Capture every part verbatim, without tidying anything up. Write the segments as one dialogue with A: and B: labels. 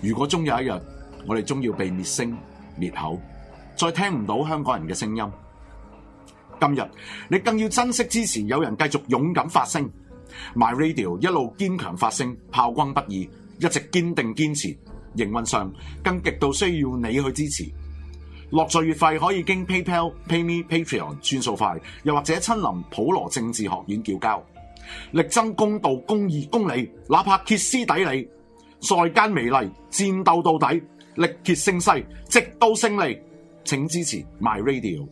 A: 如果終有一日，我哋終要被滅聲滅口，再聽唔到香港人嘅聲音，今日你更要珍惜支持有人繼續勇敢發聲 ，My Radio 一路堅強發聲，炮轟不已，一直堅定堅持。營運上更極度需要你去支持。落座月費可以經 PayPal、PayMe、Patreon 轉數快，又或者親臨普羅政治學院叫交，力爭公道、公義、公理，哪怕歇斯底里，在間美利，戰鬥到底，力竭勝勢，直到勝利。請支持 My Radio。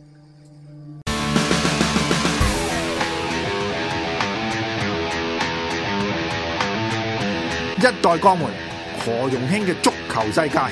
B: 一代鋼門何容興嘅足球世界。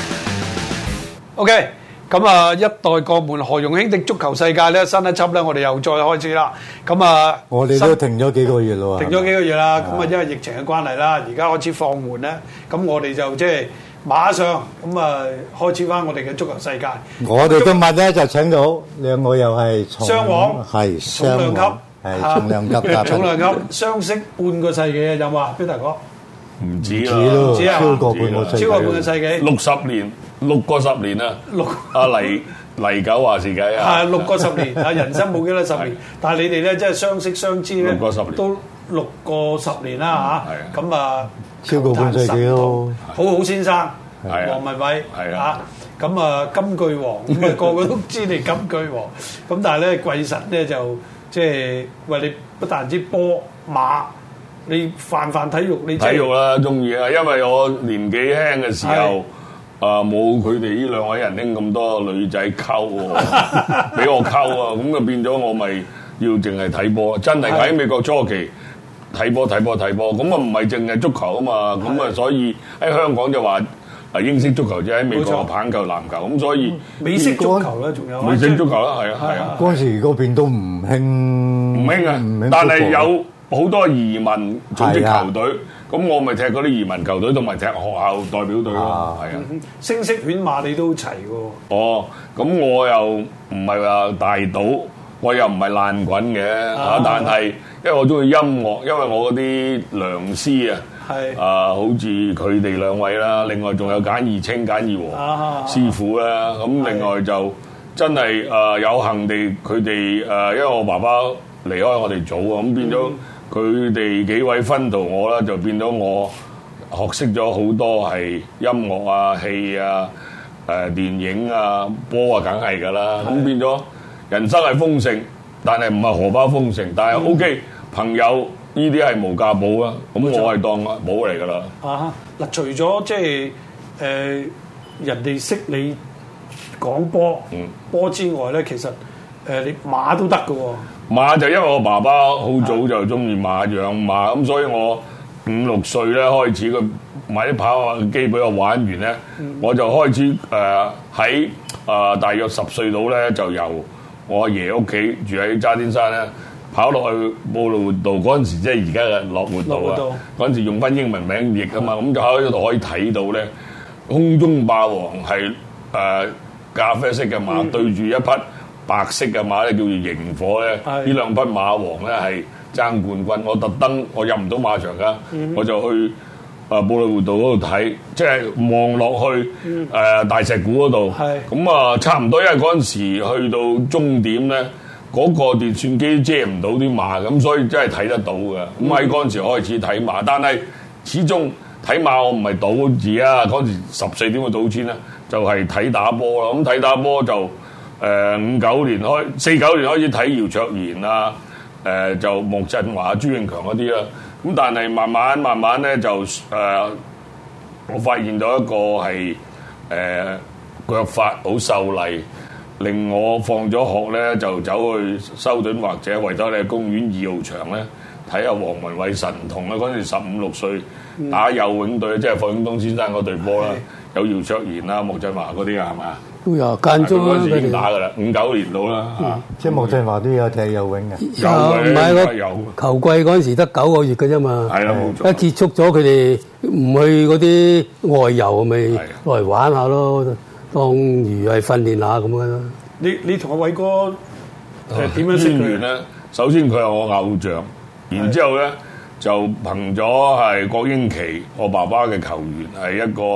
C: OK。咁啊，一代鋼門何容興的足球世界咧，新一輯咧，我哋又再開始啦。咁啊，
D: 我哋都停咗幾個月咯，
C: 停咗幾個月啦。咁啊，因為疫情嘅關係啦，而家開始放緩咧，咁我哋就即係馬上咁啊，開始翻我哋嘅足球世界。
D: 我哋今日咧就請到兩個又係
C: 雙王，
D: 係
C: 重量級，
D: 係重量級，
C: 重量級，相識半個世紀啊，有冇啊，邊大哥？
E: 唔止啦，
D: 唔止
C: 啊，
D: 超過半個世紀，
C: 超過半個世紀，
E: 六十年。六個十年啊！
C: 六
E: 阿黎黎九話事計啊！
C: 係六個十年啊！人生冇幾多十年，但係你哋咧即係相識相知咧，
E: 六個十年
C: 都六個十年啦嚇。咁啊，
D: 超過半世紀咯。
C: 好好先生，黃文偉嚇。咁啊，金句王咁啊，個個都知你金句王。咁但係咧，貴神咧就即係喂你不但止波馬，你泛泛體育你
E: 體育啦，中意啊！因為我年紀輕嘅時候。啊！冇佢哋呢兩位人拎咁多女仔溝喎，俾我溝啊！咁就變咗我咪要淨係睇波，真係喺美國初期睇波睇波睇波，咁啊唔係淨係足球啊嘛，咁啊所以喺香港就話啊英式足球啫，喺美國棒球、籃球，咁所以
C: 美式足球咧仲有
E: 美式足球啦，係啊係啊！
D: 嗰陣時嗰邊都唔興
E: 唔興啊，但係有好多移民組織球隊。咁我咪踢嗰啲移民球隊，同埋踢學校代表隊咯，係啊。
C: 聲色犬馬你都齊喎。
E: 哦，咁我又唔係話大賭，我又唔係爛滾嘅嚇，但係因為我中意音樂，因為我嗰啲良師啊，係啊，好似佢哋兩位啦，另外仲有簡義清、簡義和師傅啦，咁另外就真係誒有幸地佢哋誒，因為我爸爸離開我哋早啊，咁變咗。佢哋幾位分導我啦，就變咗我學識咗好多係音樂啊、戲啊、誒、呃、電影啊、波啊，梗係㗎啦。咁變咗人生係豐盛，但係唔係荷包豐盛，但係 O K。朋友呢啲係無價寶啊，咁我係當寶嚟㗎啦。
C: 啊嗱，除咗即係誒人哋識你講波波之外咧，其實誒、呃、你馬都得㗎喎。
E: 馬就因為我爸爸好早就中意馬養馬，咁所以我五六歲咧開始佢買啲跑馬機俾我玩完咧，嗯、我就開始誒喺誒大約十歲到咧就由我阿爺屋企住喺渣甸山咧跑落去布羅活道嗰陣時，即係而家嘅樂活道啊，嗰陣時用翻英文名譯啊嘛，咁、嗯、就喺度可以睇到咧空中霸王係誒、呃、咖啡色嘅馬、嗯、對住一匹白色嘅馬咧叫做螢火咧，呢兩匹馬王咧係爭冠軍。我特登我入唔到馬場噶，嗯、我就去啊布里活道嗰度睇，即係望落去誒、嗯呃、大石鼓嗰度。咁啊差唔多，因為嗰陣時去到終點咧，嗰、那個電算機遮唔到啲馬，咁所以真係睇得到嘅。咁喺嗰陣時開始睇馬，但係始終睇馬我唔係賭字啊。嗰陣時十四點嘅賭錢咧，就係、是、睇打波啦。咁睇打波就。誒五九年開，四九年開始睇姚卓然啊，誒、呃、就莫振華、朱永強嗰啲啦。咁但係慢慢慢慢咧就誒、呃，我發現到一個係誒、呃、腳法好秀麗，令我放咗學咧就走去修頓或者維多利亞公園二號場咧睇下黃文偉神童啊！嗰陣時十五六歲打游泳隊，嗯、即係霍永東先生嗰隊波啦，有姚卓然啊、莫振華嗰啲啊，係咪啊？
D: 都有間中
E: 嗰陣時已經打噶啦，五九年到啦嚇。
D: 即係莫振華都有踢游泳嘅，
F: 有唔係個球季嗰陣時得九個月嘅啫嘛。
E: 係啦，冇錯。
F: 一結束咗，佢哋唔去嗰啲外遊，咪落嚟玩下咯，當如係訓練下咁樣咯。
C: 你你同阿偉哥誒點樣識佢
E: 咧？首先佢係我偶像，然之後咧就憑咗係郭英琪，我爸爸嘅球員，係一個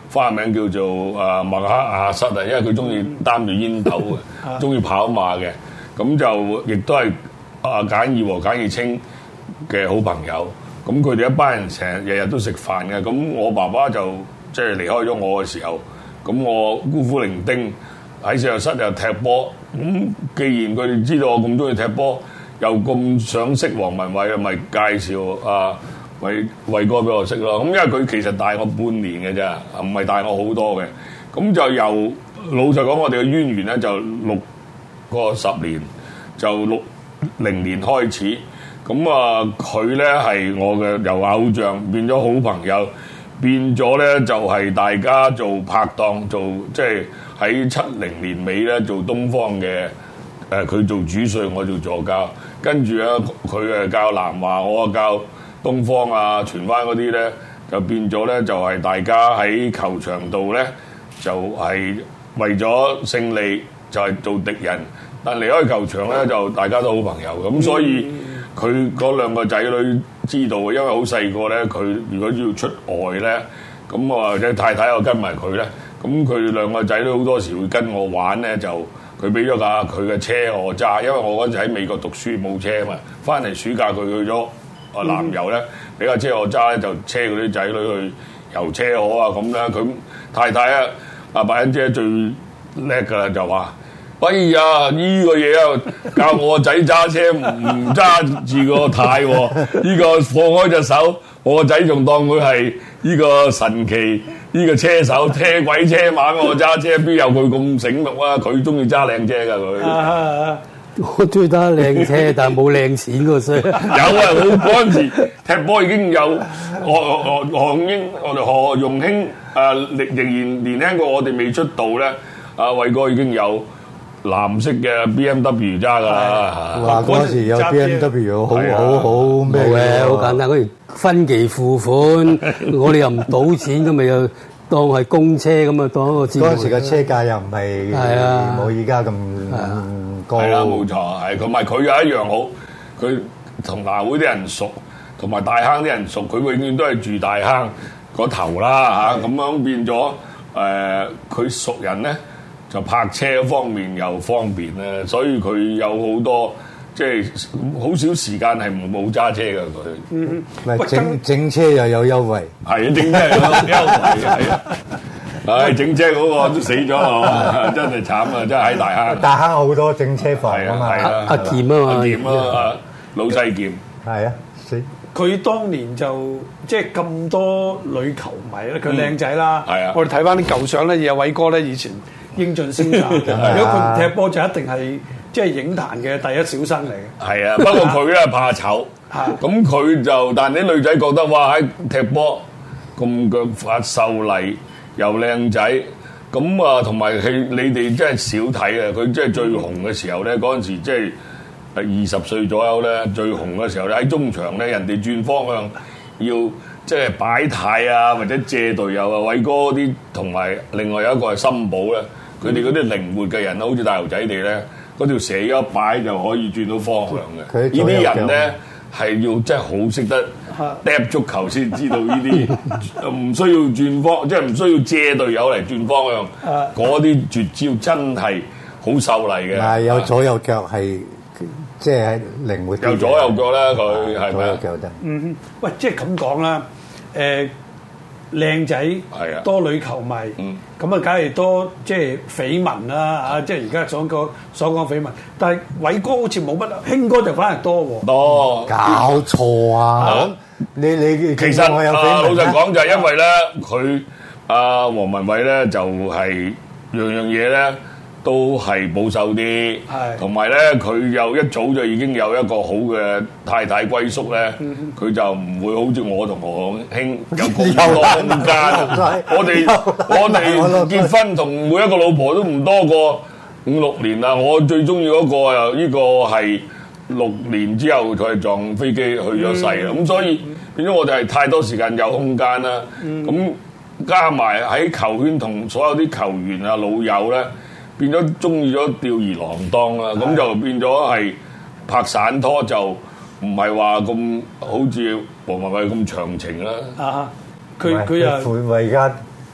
E: 花名叫做誒麥克亞瑟啊，因為佢中意擔住煙斗嘅，中意跑馬嘅，咁就亦都係啊簡義和簡義清嘅好朋友。咁佢哋一班人成日日日都食飯嘅。咁我爸爸就即係離開咗我嘅時候，咁我孤苦伶仃喺自習室又踢波。咁既然佢哋知道我咁中意踢波，又咁想識黃文偉，咪介紹啊偉偉哥俾我識咯。咁因為佢其實大我半年嘅啫，唔係大我好多嘅。咁就由老實講，我哋嘅淵源咧就六個十年，就六零年開始。咁啊，佢咧係我嘅由偶像變咗好朋友，變咗咧就係大家做拍檔，做即係喺七零年尾咧做東方嘅誒，佢做主帥，我做助教。跟住咧，佢誒教南華，我啊教東方啊、荃灣嗰啲咧，就變咗咧就係大家喺球場度咧，就係為咗勝利就係做敵人，但離開球場咧就大家都好朋友。咁所以佢嗰兩個仔女知道，因為好細個咧，佢如果要出外咧，咁我或者太太又跟埋佢咧，咁佢兩個仔女好多時會跟我玩咧，就佢俾咗架佢嘅車我揸，因為我嗰陣喺美國讀書冇車啊嘛，翻嚟暑假佢去咗啊南遊咧，俾架車我揸咧，就車嗰啲仔女去遊車河啊咁咧，佢太太啊阿白欣姐最叻噶啦，就話：哎呀，呢、這個嘢啊，教我個仔揸車唔唔揸住個軚喎，呢個放開隻手，我個仔仲當佢係呢個神奇呢、這個車手，車鬼車馬我揸車，邊有佢咁醒目啊？佢中意揸靚車㗎佢。
F: 我中意揸靚車，但係冇靚錢嗰衰。有
E: 啊，我嗰陣時踢波已經有何何何英，我哋何容興啊，仍仍然年輕過我哋未出道咧。阿偉哥已經有藍色嘅 B M W 揸㗎啦。
D: 哇！嗰時有 B M W 好好好咩嘅？
F: 好簡單，嗰時分期付款，我哋又唔賭錢，咁咪又當係公車咁啊，當一個節目。
D: 嗰陣時嘅車價又唔係冇依家咁高。
E: 係啦，冇錯，係同埋佢又一樣好，佢同南會啲人熟，同埋大坑啲人熟，佢永遠都係住大坑嗰頭啦嚇，咁樣變咗誒，佢熟人咧。就泊車方面又方便咧，所以佢有好多即係好少時間係冇揸車嘅佢。
D: 嗯，唔係整整車又有優惠，
E: 係啊，整車有優惠係啊。唉，整車嗰個都死咗啊！真係慘啊！真係喺大坑。
D: 大坑好多整車房啊嘛，
F: 阿劍啊嘛，
E: 阿劍啊，老細劍。
D: 係啊，死。
C: 佢當年就即係咁多女球迷咧，佢靚仔啦。
E: 係啊，
C: 我哋睇翻啲舊相咧，有偉哥咧以前。英俊瀟灑，如果佢唔踢波就一定係即係影壇嘅第一小生嚟嘅。
E: 係啊，不過佢咧怕醜，咁佢就但係啲女仔覺得哇喺踢波咁腳法秀麗又靚仔，咁啊同埋佢你哋真係少睇啊！佢即係最紅嘅時候咧，嗰陣時即係二十歲左右咧，最紅嘅時候咧喺中場咧，人哋轉方向要。即係擺軚啊，或者借隊友啊，偉哥啲同埋另外有一個係森保咧，佢哋嗰啲靈活嘅人好似大牛仔哋咧，嗰條蛇一擺就可以轉到方向嘅。呢啲人咧係要真係好識得踢足球先知道呢啲，唔需要轉方，即係唔需要借隊友嚟轉方向。嗰啲絕招真係好秀麗嘅。
D: 係有左右腳係。即係靈活啲，
E: 有左右腳啦，佢係咪？
D: 左右腳得。
C: 嗯，喂，即係咁講啦，誒靚仔，
E: 係啊，
C: 多女球迷，咁啊，梗係多即係緋聞啦，啊，即係而家所講所講緋聞。但係偉哥好似冇乜，興哥就反而多喎。
E: 多，
D: 搞錯啊！你你
E: 其實啊，老實講就係因為咧，佢阿黃文偉咧就係樣樣嘢咧。都係保守啲，同埋咧佢又一早就已經有一個好嘅太太歸宿咧，佢就唔會好似我同何興有咁多空間。我哋我哋結婚同每一個老婆都唔多過五六年啦。我最中意嗰個又呢個係六年之後佢係撞飛機去咗世啦。咁所以變咗我哋係太多時間有空間啦。咁加埋喺球圈同所有啲球員啊老友咧。變咗中意咗吊兒郎當啦，咁就變咗係拍散拖就唔係話咁好似黃文偉咁長情啦。
C: 啊，佢佢又
D: 佢而家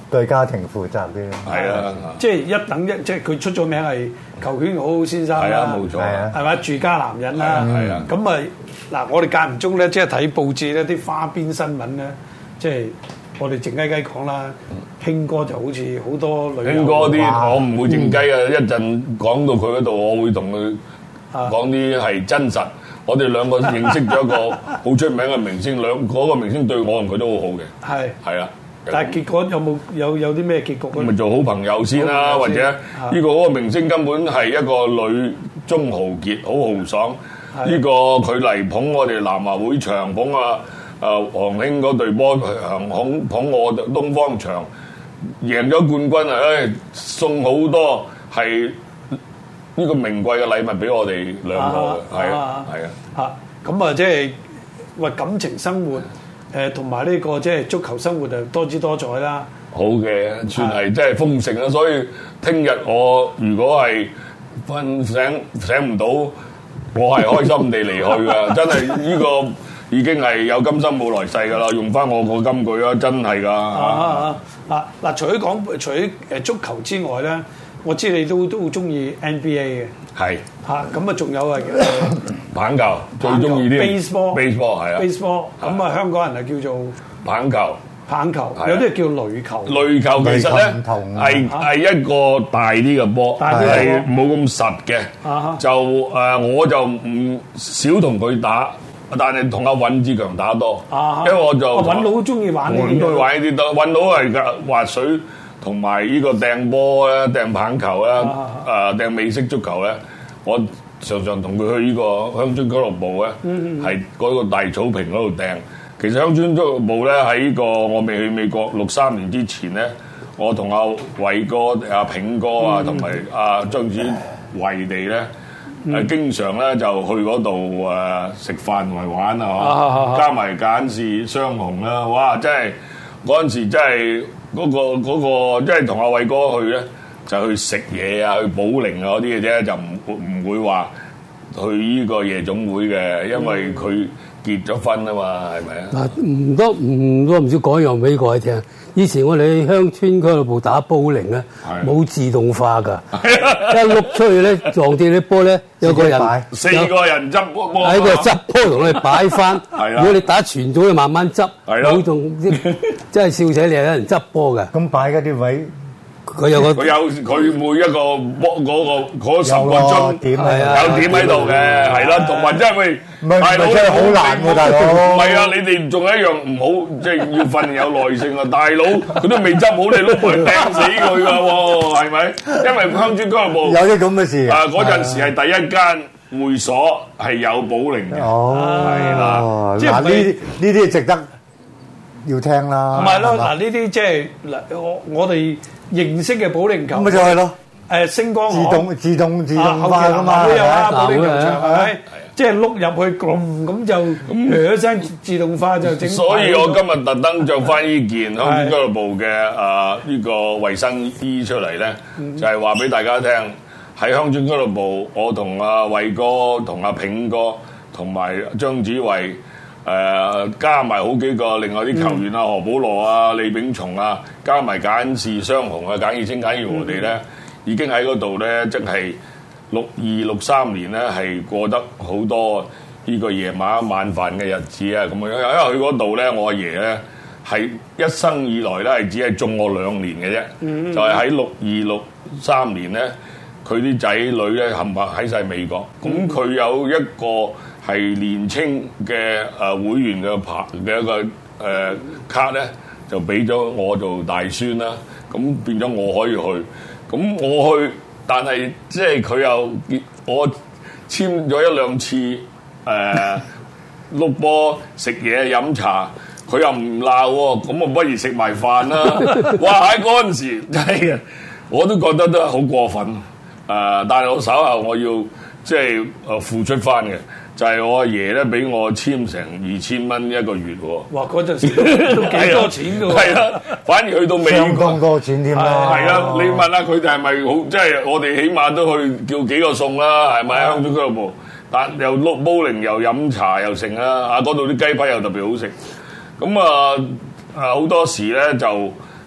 D: 對家庭負責啲。
E: 係啊，
C: 即係一等一，即係佢出咗名係球圈好好先生啦。
E: 係啊，冇錯。
D: 係啊，
C: 係嘛？住家男人啦。
E: 係啊。
C: 咁啊嗱，我哋間唔中咧，即係睇報紙咧，啲花邊新聞咧，即係我哋靜雞雞講啦。興哥就好似好多女。
E: 興哥啲我唔會靜雞啊！一陣講到佢嗰度，我會同佢講啲係真實。我哋兩個認識咗一個好出名嘅明星，兩嗰個明星對我同佢都好好嘅。
C: 係
E: 係啊，
C: 但係結果有冇有有啲咩結局咧？
E: 咪做好朋友先啦，或者呢個嗰個明星根本係一個女中豪傑，好豪爽。呢個佢嚟捧我哋南華會場，捧啊啊黃興嗰隊波，捧捧我東方場，贏咗冠軍啊！誒送好多係。呢個名貴嘅禮物俾我哋兩個嘅，係啊，係啊，
C: 嚇咁啊，即係喂感情生活，誒同埋呢個即係足球生活就多姿多彩啦。
E: 好嘅，算係即係豐盛啦。所以聽日我如果係瞓醒醒唔到，我係開心地離去㗎。真係呢個已經係有今生冇來世㗎啦。用翻我個金句啊，真係㗎。啊
C: 啊嗱，除咗講除咗誒足球之外咧。我知你都都好中意 N B A 嘅，
E: 係
C: 嚇咁啊，仲有啊
E: 棒球最中意啲
C: baseball，baseball
E: 係啊
C: ，baseball 咁啊，香港人係叫做
E: 棒球，
C: 棒球有啲係叫壘球，
E: 壘球其實咧係係一個大啲嘅波，係冇咁實嘅，就誒我就唔少同佢打，但係同阿尹志強打多，因為我就
C: 尹佬中意玩呢啲，
E: 我都玩呢啲多，尹佬係滑水。同埋呢個掟波咧、掟棒球咧、誒掟美式足球咧，我常常同佢去呢個鄉村俱樂部咧，係嗰個大草坪嗰度掟。其實鄉村俱樂部咧喺呢個我未去美國六三年之前咧，我同阿偉哥、阿炳哥啊，同埋阿張子維地咧，誒經常咧就去嗰度誒食飯同埋玩啊，加埋簡氏雙雄啦，哇！真係嗰陣時真係〜嗰、那個嗰、那個即係同阿偉哥去咧，就去食嘢啊，去保齡啊嗰啲嘅啫，就唔唔會話去呢個夜總會嘅，因為佢結咗婚啊嘛，係咪啊？
F: 嗱，唔多唔多唔少講樣俾各位聽。以前我哋鄉村俱樂部打保齡咧，冇自動化㗎，一碌出去咧撞跌啲波咧，有個人
E: 四個人執波，
F: 喺個執波同佢擺翻。如果你打全組，你慢慢執，冇仲真係笑死你，有人執波㗎。
D: 咁擺嗰啲位。
F: 佢有個
E: 佢有佢每一個波嗰個嗰十個鐘
D: 點
F: 係啊，
E: 有點喺度嘅，係啦，同埋真係喂，
D: 大佬真係好難喎，大佬。
E: 唔係啊，你哋仲有一樣唔好，即係要訓練有耐性啊，大佬佢都未執好，你碌埋掟死佢㗎喎，係咪？因為鄉村俱樂部
D: 有啲咁嘅事
E: 啊，嗰陣時係第一間會所係有保齡嘅，係啦，
D: 即係呢啲呢啲值得要聽啦。
C: 唔係咯，嗱呢啲即係嗱我我哋。認識嘅保齡球，
D: 咁咪就係咯。
C: 誒星光
D: 自動自動自動化㗎嘛，
C: 都有啦，保齡球場係咪？即係碌入去咁咁就咁一聲自動化就整。
E: 所以我今日特登着翻呢件鄉村俱樂部嘅誒呢個衛生衣出嚟咧，就係話俾大家聽，喺鄉村俱樂部，我同阿偉哥、同阿炳哥、同埋張子維。誒、呃、加埋好幾個另外啲球員啊，何寶羅啊、李炳松啊，加埋簡氏雙雄啊、簡義清、簡義和地咧，已經喺嗰度咧，即係六二六三年咧，係過得好多呢個夜晚晚飯嘅日子啊！咁樣，因為去嗰度咧，我阿爺咧係一生以來咧係只係中我兩年嘅啫，嗯、就係喺六二六三年咧，佢啲仔女咧冚唪喺晒美國，咁佢、嗯、有一個。係年青嘅誒會員嘅牌嘅一個誒、呃、卡咧，就俾咗我做大孫啦。咁變咗我可以去。咁我去，但係即係佢又我簽咗一兩次誒碌波食嘢飲茶，佢又唔鬧喎。咁我不如食埋飯啦。哇！喺嗰陣時真係，我都覺得都好過分。誒、呃，但係我稍後我要即係誒付出翻嘅。就係我阿爺咧，俾我簽成二千蚊一個月喎。
C: 哇！嗰陣時都幾多錢㗎喎。係
E: 啊，反而去到美國
D: 相當多錢添啦。
E: 係啊，你問下佢哋係咪好？即係我哋起碼都去叫幾個餸啦，係咪？鄉村俱樂部，但又碌保齡又飲茶又剩啦。啊，嗰度啲雞排又特別好食。咁啊啊好多時咧就呢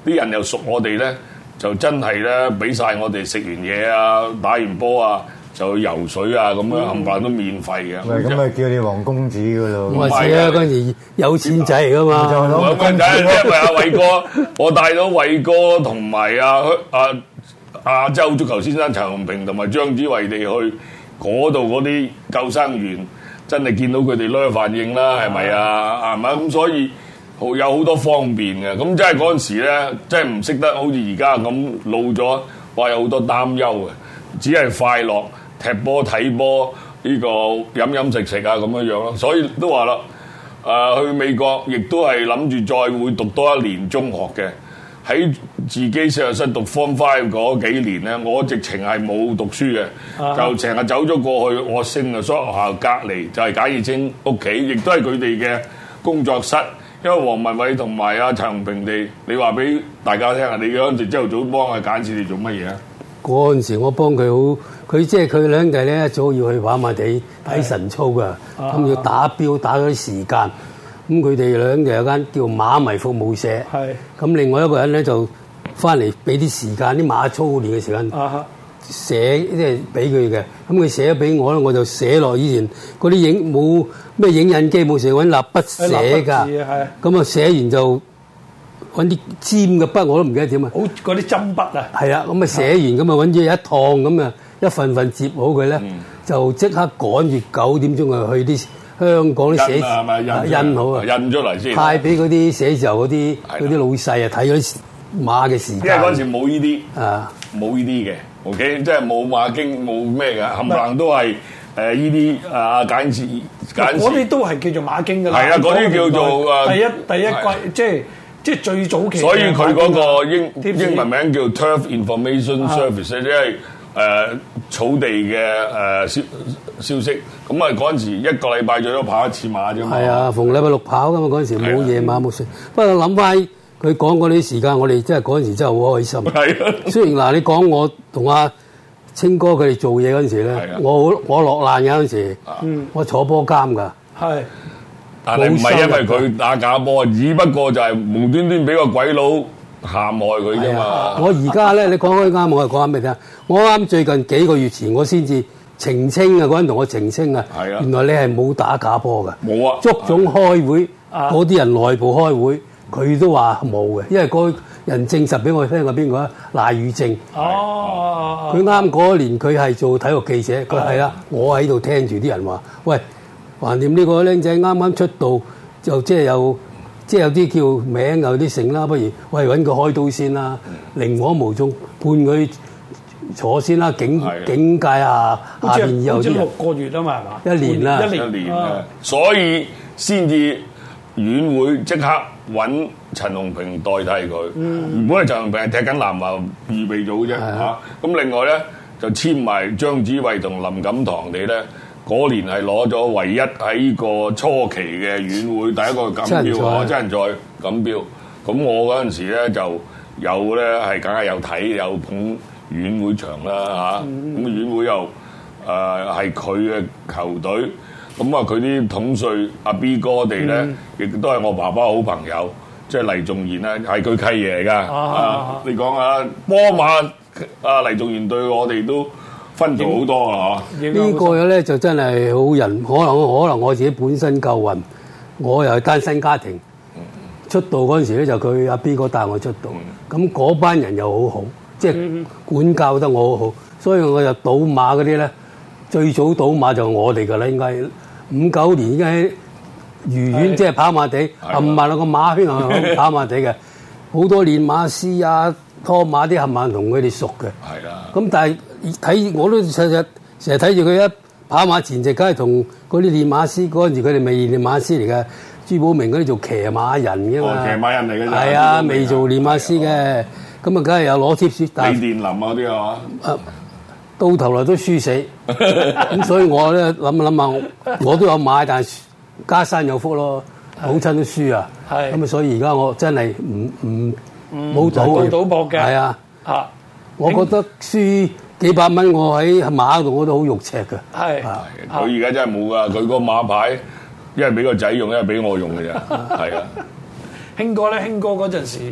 E: 啲人又熟我哋咧，就真係咧俾晒我哋食完嘢啊，打完波啊，就去游水啊咁樣冚唪唥都免費嘅。
D: 喂，咁咪叫你黃公子噶咯？
F: 我係啊，嗰陣時有錢仔嚟噶嘛。
E: 黃公仔，因為阿偉哥，我帶咗偉哥同埋阿阿亞洲足球先生陳鴻平同埋張子慧地去嗰度嗰啲救生員，真係見到佢哋咧反應啦，係咪啊？係咪咁？所以有好多方便嘅。咁即係嗰陣時咧，真係唔識得好似而家咁老咗，話有好多擔憂嘅，只係快樂踢波睇波呢個飲飲食食啊咁樣樣咯。所以都話啦，誒、呃、去美國亦都係諗住再會讀多一年中學嘅。喺自己實習室讀 Form Five 嗰幾年咧，我直情係冇讀書嘅，啊、就成日走咗過去我升嘅所學校隔離，就係簡義清屋企，亦都係佢哋嘅工作室。因為黃文偉同埋阿陳鴻平地，你話俾大家聽下，你嗰陣時朝頭早幫阿簡士哋做乜嘢啊？嗰
F: 陣時我幫佢好，佢即係佢兩弟咧，一早要去跑馬地睇晨操㗎，咁、啊、要打標打嗰啲時間。咁佢哋兩就有間叫馬迷服務社，咁另外一個人咧就翻嚟俾啲時間啲馬操練嘅時間寫，即係俾佢嘅。咁佢寫咗俾我咧，我就寫落以前嗰啲影冇咩影印機冇，成日揾蠟筆寫㗎。咁啊寫完就揾啲尖嘅筆，我都唔記得點啊。好
C: 嗰啲針筆啊。
F: 係啊，咁啊寫完咁啊揾咗一趟咁啊一份份摺好佢咧，嗯、就即刻趕住九點鐘啊去啲香港啲寫字印好啊，
E: 印咗嚟先，
F: 派俾嗰啲寫字樓嗰啲嗰啲老細啊睇咗啲馬嘅時間。
E: 因為嗰陣時冇呢啲
F: 啊，
E: 冇呢啲嘅 ，OK， 即係冇馬經冇咩嘅，冚唪唥都係誒呢啲啊簡字簡字。
C: 嗰啲都係叫做馬經㗎啦。
E: 係啊，嗰啲叫做誒
C: 第一第一季，即係即係最早期。
E: 所以佢嗰個英英文名叫 Turf Information Service，即係誒草地嘅誒消消息。咁啊嗰陣時一個禮拜最多跑一次馬啫嘛。
F: 係啊，逢禮拜六跑㗎嘛，嗰陣時冇夜馬冇睡。不過諗翻佢講嗰啲時間，我哋真係嗰陣時真係好開心。係啊，雖然嗱你講我同阿清哥佢哋做嘢嗰陣時咧，我我落難嘅嗰陣時，我坐波監㗎。係，
E: 但係唔係因為佢打假波，只不過就係無端端俾個鬼佬陷害佢啫嘛。
F: 我而家咧，你講開啱，我係講緊咩聽？我啱最近幾個月前，我先至澄清啊！嗰陣同我澄清啊，原來你係冇打假波㗎。冇啊！足總開會，嗰啲人內部開會，佢都話冇嘅，因為嗰人證實俾我聽係邊個啊？賴宇正。哦，佢啱嗰年佢係做體育記者，佢係啦，我喺度聽住啲人話，喂，橫掂呢個僆仔啱啱出道，就即係有即係有啲叫名有啲姓啦，不如喂揾佢開刀先啦，寧可無中判佢坐先啦，警警戒下下邊以後啲人。
C: 六個月啊嘛，係嘛？
F: 一年啦，
E: 一年啊，所以先至院會即刻揾陳鴻平代替佢。原本係陳鴻平係踢緊南華預備組啫嚇。咁另外咧就簽埋張子慧同林錦堂哋咧，嗰年係攞咗唯一喺呢個初期嘅院會第一個錦標啊，真人賽錦標。咁我嗰陣時咧就有咧係梗係有睇有捧院會場啦嚇。咁院會又誒係佢嘅球隊。咁啊，佢啲統帥阿 B 哥哋咧，亦都係我爸爸好朋友，即係黎仲賢咧，係佢契爺嚟噶。啊，你講下波馬啊，黎仲賢對我哋都分咗好多啊！嚇，
F: 呢個咧就真係好人，可能可能我自己本身夠運，我又係單身家庭，出道嗰陣時咧就佢阿 B 哥帶我出道，咁嗰班人又好好，即係管教得我好好，所以我就賭馬嗰啲咧，最早賭馬就我哋噶啦，應該。五九年已經喺愉園，即係跑馬地，冚唪唥個馬圈係跑馬地嘅，好多練馬師啊、拖馬啲冚唪唥同佢哋熟嘅。係啦。咁但係睇我都成日成日睇住佢一跑馬前夕，梗係同嗰啲練馬師嗰陣時，佢哋未練馬師嚟嘅。朱寶明嗰啲做騎馬人嘅嘛。
E: 騎馬人嚟嘅。
F: 係啊，未做練馬師嘅，咁啊，梗係有攞貼士。
E: 李殿林啊啲係嘛？
F: 到頭來都輸死，咁所以我咧諗諗下，我都有買，但係家山有福咯，母親都輸啊，咁啊所以而家我真係唔唔冇賭
C: 賭博嘅，
F: 係啊，啊，我覺得輸幾百蚊，我喺馬度我都好肉赤嘅，
C: 係，
E: 佢而家真係冇噶，佢個馬牌一係俾個仔用，一係俾我用嘅啫，係啊，
C: 興哥咧，興哥嗰陣時。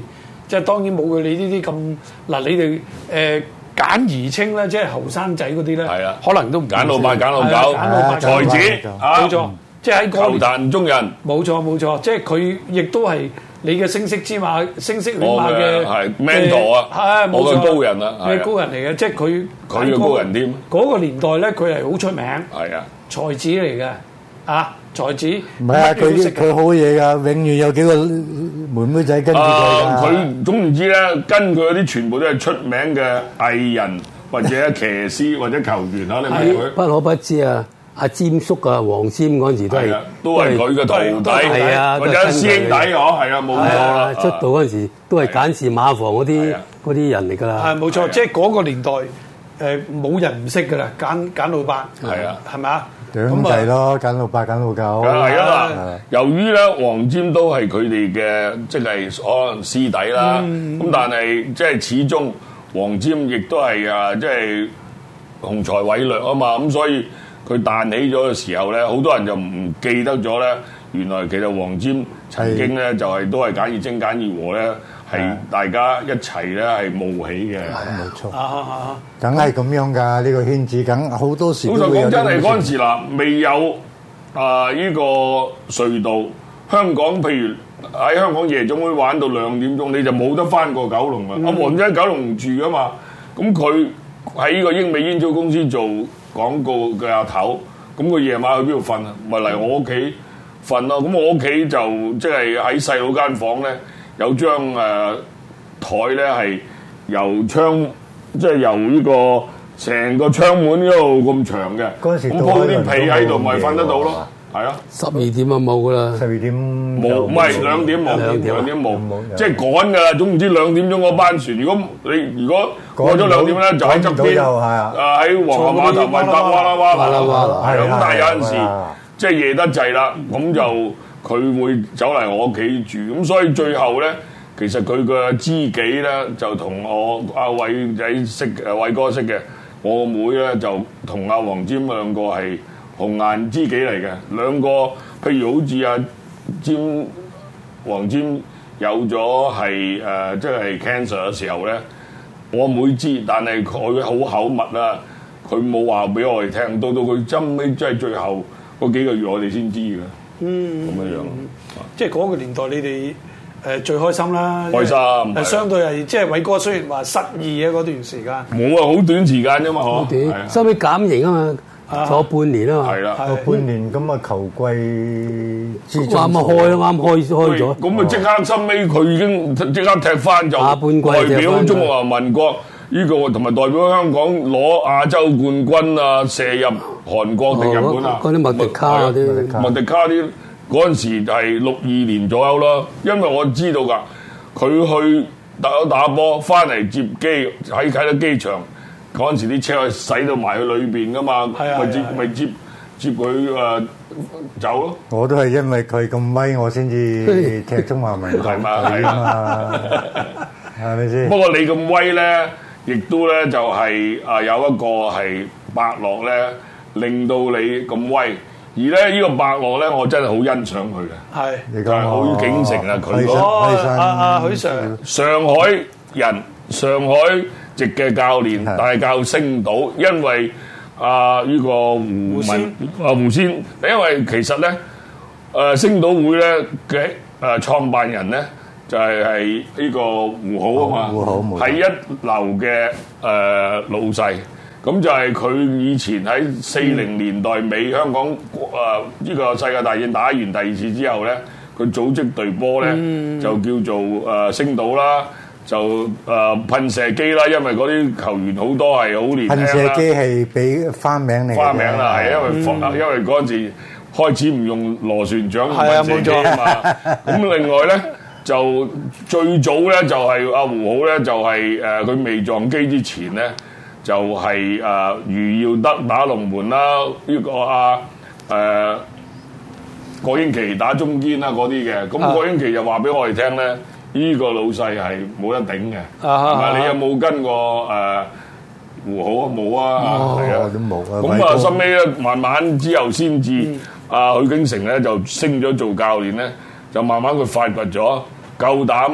C: 即係當然冇佢你呢啲咁嗱，你哋誒簡而清咧，即係後生仔嗰啲咧，可能都唔
E: 簡老八、簡老九、才子啊，
C: 冇錯，即係喺嗰
E: 球壇中人，
C: 冇錯冇錯，即係佢亦都係你嘅聲色之馬、聲色犬馬嘅
E: 係 mentor 啊，
C: 係冇錯，
E: 高人啊，
C: 嘅高人嚟嘅，即係佢
E: 佢嘅高人添。
C: 嗰個年代咧，佢係好出名，
E: 係啊，
C: 才子嚟嘅啊。才子
D: 唔係啊！佢佢好嘢㗎，永遠有幾個妹妹仔跟住佢㗎。
E: 佢總言之咧，跟佢嗰啲全部都係出名嘅藝人或者騎師或者球員啊！你明佢？
F: 不可不知啊！阿詹叔啊，黃霑嗰陣時都係
E: 都係佢嘅徒弟，
F: 係啊，
E: 或者師兄弟嗬，係啊，冇錯啦。
F: 出道嗰陣時都係簡氏馬房嗰啲嗰啲人嚟㗎啦。
C: 係冇錯，即係嗰個年代誒冇人唔識㗎啦，簡簡老八
E: 係啊，
C: 係咪啊？
D: 兄弟咯，簡老八、簡老九。
E: 係啊嗱，由於咧黃霑都係佢哋嘅，即係可能師弟啦。咁但係即係始終黃霑亦都係啊，即係雄才偉略啊嘛。咁所以佢彈起咗嘅時候咧，好多人就唔記得咗咧。原來其實黃霑曾經咧就係都係簡而清、簡而和咧。係大家一齊咧係冒起嘅，
D: 冇錯，梗係咁樣㗎。呢個圈子梗好多時。老實
E: 講真係嗰陣時啦，未有啊呢個隧道，香港譬如喺香港夜總會玩到兩點鐘，你就冇得翻過九龍啦。阿黃霑喺九龍住㗎嘛，咁佢喺呢個英美煙草公司做廣告嘅阿頭，咁佢夜晚去邊度瞓啊？咪嚟我屋企瞓咯。咁我屋企就即係喺細佬間房咧。有張誒台咧係由窗，即係由呢個成個窗門嗰度咁長嘅，咁鋪啲被喺度，咪瞓得到咯。係啊，
F: 十二點啊冇噶啦，
D: 十二點
E: 冇，唔係兩點冇，兩點冇，即係趕㗎啦。總唔知兩點鐘嗰班船，如果你如果過咗兩點咧，就喺側邊，啊喺皇后碼頭咪搭哇啦哇啦哇啦，係咁。但係有陣時即係夜得滯啦，咁就。佢會走嚟我屋企住，咁所以最後咧，其實佢嘅知己咧就同我阿偉仔識誒偉哥識嘅，我個妹咧就同阿黃霑兩個係紅顏知己嚟嘅，兩個譬如好似阿霑黃霑有咗係誒即係 cancer 嘅時候咧，我妹知，但係佢好口密啦，佢冇話俾我哋聽，到到佢真尾即係最後嗰幾個月我哋先知嘅。嗯，咁樣樣，
C: 即係嗰個年代，你哋誒最開心啦，
E: 開心。係
C: 相對係即係偉哥雖然話失意啊嗰段時間，
E: 冇啊，好短時間啫嘛，
F: 好短，收尾減刑啊嘛，坐半年啊嘛，
E: 係啦，
D: 半年咁啊球季
F: 啱啱開咯，啱開開咗，
E: 咁啊即刻收尾佢已經即刻踢翻就
F: 下半季
E: 代表中華民國呢個同埋代表香港攞亞洲冠軍啊，射入韓國定日本啊？
F: 嗰啲麥迪卡嗰啲，
E: 麥迪卡啲嗰陣時係六二年左右咯。因為我知道㗎，佢去打打波翻嚟接機喺啟德機場嗰陣時，啲車係駛到埋去裏邊㗎嘛，咪接咪接接佢誒走咯。
D: 我都係因為佢咁威，我先至踢中華民國係嘛，係咪先？
E: 不過你咁威咧，亦都咧就係啊有一個係伯樂咧，令到你咁威。而咧呢個伯樂咧，我真係好欣賞佢嘅。係，就係許景成啊，佢
C: 哦，阿阿許 Sir，
E: 上海人，上海籍嘅教練，帶教星島，因為啊呢個胡文啊胡仙，因為其實咧誒星島會咧嘅誒創辦人咧。就係係呢個胡好啊嘛，係一流嘅誒、呃、老細。咁就係佢以前喺四零年代尾香港誒呢、呃這個世界大戰打完第二次之後咧，佢組織隊波咧就叫做誒、呃、星島啦，就誒、呃、噴射機啦，因為嗰啲球員好多係好年輕啦。噴射
D: 機係俾花名嚟，花
E: 名啦，係因為、嗯、因為嗰陣時開始唔用螺旋槳噴射機啊嘛。咁另外咧。就最早咧就係阿胡好咧就係誒佢未撞機之前咧就係誒余耀德打龍門啦，呢個阿誒郭英奇打中堅啦嗰啲嘅，咁郭英奇就話俾我哋聽咧，呢個老細係冇得頂嘅，係咪？你有冇跟過誒胡好啊？冇啊，係啊，
D: 都冇啊。
E: 咁啊，收尾咧慢慢之後先至阿許景成咧就升咗做教練咧，就慢慢佢發掘咗。夠膽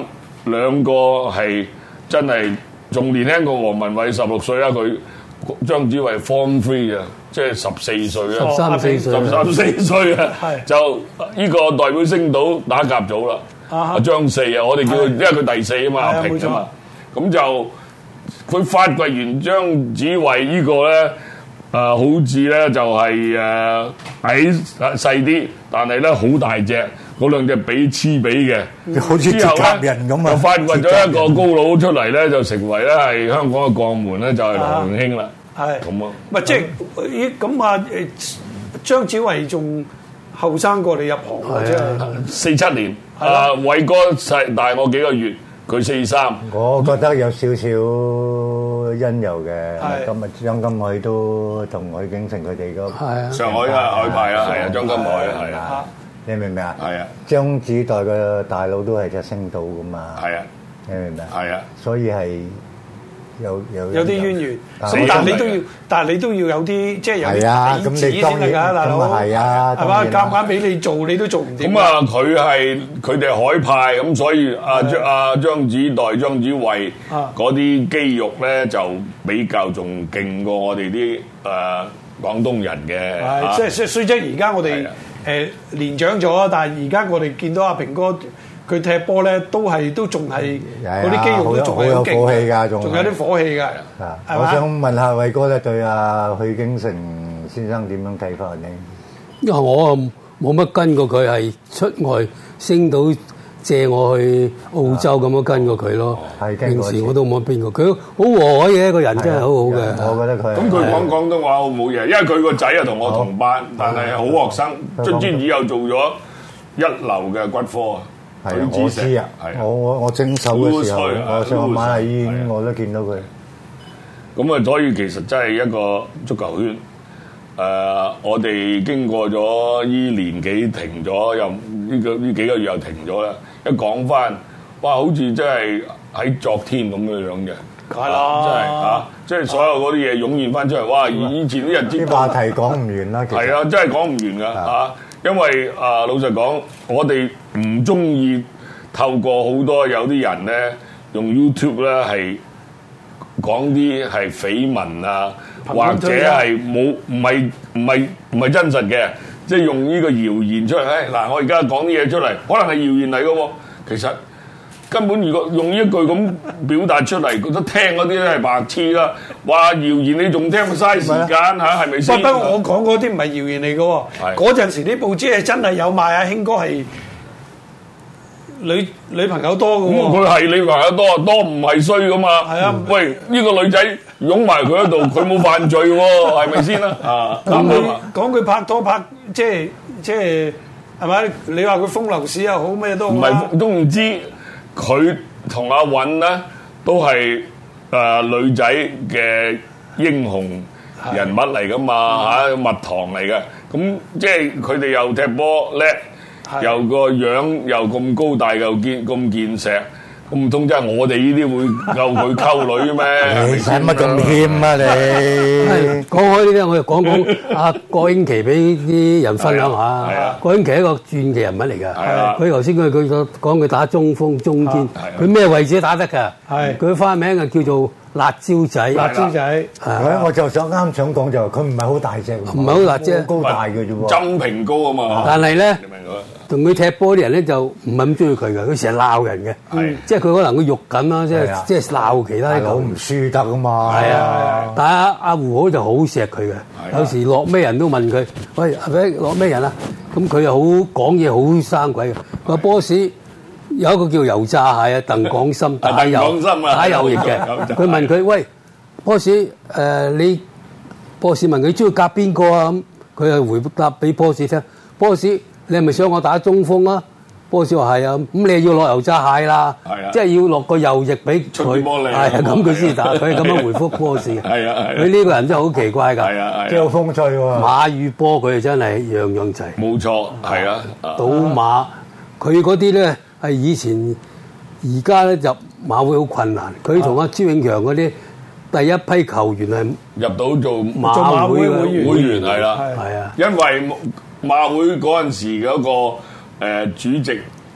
E: 兩個係真係仲年輕過黃文偉十六歲啊！佢張子偉 Form Three 啊，即係十四歲啊，
F: 十三四歲，
E: 十三四歲啊，就呢個代表星島打甲組啦。阿張四啊，我哋叫佢，因為佢第四啊嘛，阿平啊嘛，咁就佢發掘完張子偉呢個咧。誒、呃、好似咧就係誒矮細啲，但係咧好大隻，嗰兩隻比黐比嘅，
D: 好似鐵甲人咁啊！
E: 就發掘咗一個高佬出嚟咧，就成為咧係香港嘅鋼門咧，就係羅榮興啦。係咁啊！
C: 唔係即係咦咁啊？誒張子偉仲後生過你入行啊！即係
E: 四七年，啊偉哥細大我幾個月，佢四三。
D: 我覺得有少少因由嘅，今日張金海都同許景成佢哋嗰
E: 上海啊海派啊，係啊張金海啊，係啊，
D: 你明唔明啊？
E: 係啊，
D: 張子代嘅大佬都係隻星島噶嘛，
E: 係啊，
D: 你明唔明啊？
E: 係啊，
D: 所以係有有
C: 有啲淵源，咁但係你都要，但係你都要有啲即係有啲底子先得㗎，大佬係啊，係嘛？夾硬俾你做，你都做唔掂。
E: 咁啊，佢係佢哋海派，咁所以阿張阿張子代、張子偉嗰啲肌肉咧就比較仲勁過我哋啲誒廣東人嘅。
C: 係，即係雖則而家我哋誒年長咗，但係而家我哋見到阿平哥。佢踢波咧都係都仲係嗰啲肌肉都仲係好
D: 有火氣㗎，
C: 仲有啲火氣㗎。
D: 我想問下偉哥咧，對阿許景成先生點樣睇法咧？
F: 因為我冇乜跟過佢，係出外星島借我去澳洲咁樣跟過佢咯。平時我都冇邊個，佢好和藹嘅一個人，真係好好嘅。
D: 我覺得佢
E: 咁佢講廣東話好冇嘢，因為佢個仔啊同我同班，但係好學生，卒之以後做咗一流嘅骨科啊。
D: 係啊，我知啊，我我我徵手嘅時候，我上馬麗醫院我都見到佢。
E: 咁啊，所以其實真係一個足球圈。誒、呃，我哋經過咗依年幾停咗，又呢個呢幾個月又停咗啦。一講翻，哇，好似真係喺昨天咁樣樣嘅。
C: 係啦，
E: 真係嚇，即係所有嗰啲嘢湧現翻出嚟。哇！以前啲日子
D: 啲話題講唔完啦，其實
E: 係啊，真係講唔完㗎嚇。因為啊、呃，老實講，我哋唔中意透過好多有啲人咧用 YouTube 咧係講啲係緋聞啊，或者係冇唔係唔係唔係真實嘅，即係用呢個謠言出嚟。誒嗱，我而家講啲嘢出嚟，可能係謠言嚟嘅喎，其實根本如果用呢一句咁表達出嚟，覺得聽嗰啲咧係白痴啦。話謠言你仲聽嘥時間嚇，係咪先？
C: 不過我講嗰啲唔係謠言嚟嘅喎，嗰陣時啲報紙係真係有賣阿興哥係女女朋友多嘅喎。
E: 咁佢係女朋友多，多唔係衰噶嘛？係啊，喂，呢個女仔擁埋佢喺度，佢冇犯罪喎，係咪先啦？啊，
C: 講佢講佢拍拖拍，即係即係係咪？你話佢風流史又好咩都好啦。
E: 唔係都唔知佢同阿韻咧都係誒女仔嘅英雄人物嚟噶嘛嚇，蜜糖嚟嘅。咁即係佢哋又踢波叻。又個樣又咁高大又健咁健碩，咁唔通真係我哋呢啲會夠佢溝女咩？
D: 你使乜咁謙啊你？
F: 講開呢啲，我就講講阿郭英奇俾啲人分享下。郭英奇係一個傳奇人物嚟㗎。佢頭先佢佢講佢打中鋒、中堅，佢咩位置都打得㗎。佢花名啊叫做辣椒仔。
C: 辣椒仔。
D: 我就想啱想講就係佢唔係好大隻，
F: 唔係好大隻，
D: 高大嘅啫喎。
E: 針平高啊嘛。
F: 但係咧。同佢踢波啲人咧就唔係咁中意佢嘅，佢成日鬧人嘅，嗯、即係佢可能佢肉緊啦，即係即係鬧其他啲球唔輸得啊嘛。係啊，但係阿阿胡好就好錫佢嘅，有時落咩人都問佢，喂，係咪落咩人啊？咁佢又好講嘢好生鬼嘅。個 boss 有一個叫油炸蟹啊，鄧廣森打右打右翼嘅，佢問佢喂 boss 誒、呃、你 boss 問佢中意夾邊個啊？咁佢又回答俾 boss 聽 ，boss。你係咪想我打中鋒啊？波士話係啊，咁你要落油炸蟹啦，即係要落個右翼俾佢，係啊，咁佢先打，佢咁樣回覆波士。係啊，佢呢個人真係好奇怪㗎，係啊，
D: 幾有風趣喎。
F: 馬與波佢真係樣樣齊。
E: 冇錯，係啊。
F: 賭馬佢嗰啲咧係以前，而家咧入馬會好困難。佢同阿朱永強嗰啲第一批球員係
E: 入到做
F: 馬會
E: 會員係啦，
F: 係啊，
E: 因為。馬會嗰陣時嗰個誒主席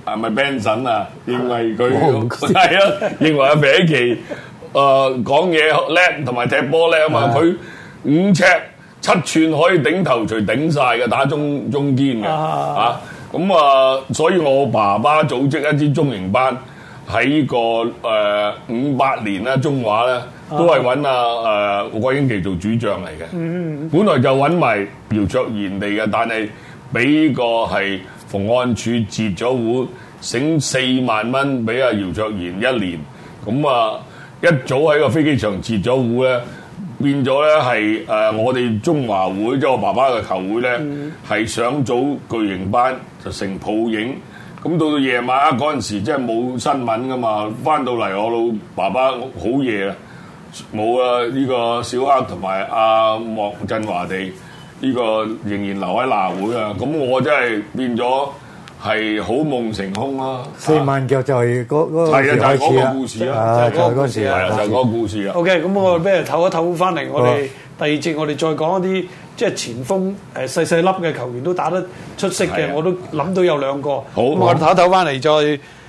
E: 係咪 Benson 啊？認為佢係啊，認為阿比奇誒講嘢叻同埋踢波叻啊嘛，佢五尺七寸可以頂頭鎚頂晒嘅，打中中堅嘅啊！咁啊，所以我爸爸組織一支中型班喺個誒五八年啦，中華咧都係揾阿誒郭英奇做主將嚟嘅。嗯，本來就揾埋姚卓然嚟嘅，但係俾個係馮安柱截咗戶，醒四萬蚊俾阿姚卓然一年。咁啊，一早喺個飛機場截咗戶咧。變咗咧係誒我哋中華會即係我爸爸嘅球會咧，係、嗯、想組巨型班就成泡影，咁到到夜晚啊嗰陣時即係冇新聞噶嘛，翻到嚟我老爸爸好夜啊，冇啊呢個小黑同埋阿莫振華地呢、這個仍然留喺南會啊，咁我真係變咗。係好夢成空啦！
D: 四萬腳就係嗰嗰個時開始啦，就係嗰時啊，
E: 就係嗰個故事啊。
C: OK，咁我俾人唞一唞翻嚟，我哋第二節我哋再講一啲即係前鋒誒細細粒嘅球員都打得出色嘅，我都諗到有兩個。好，我哋唞一唞翻嚟再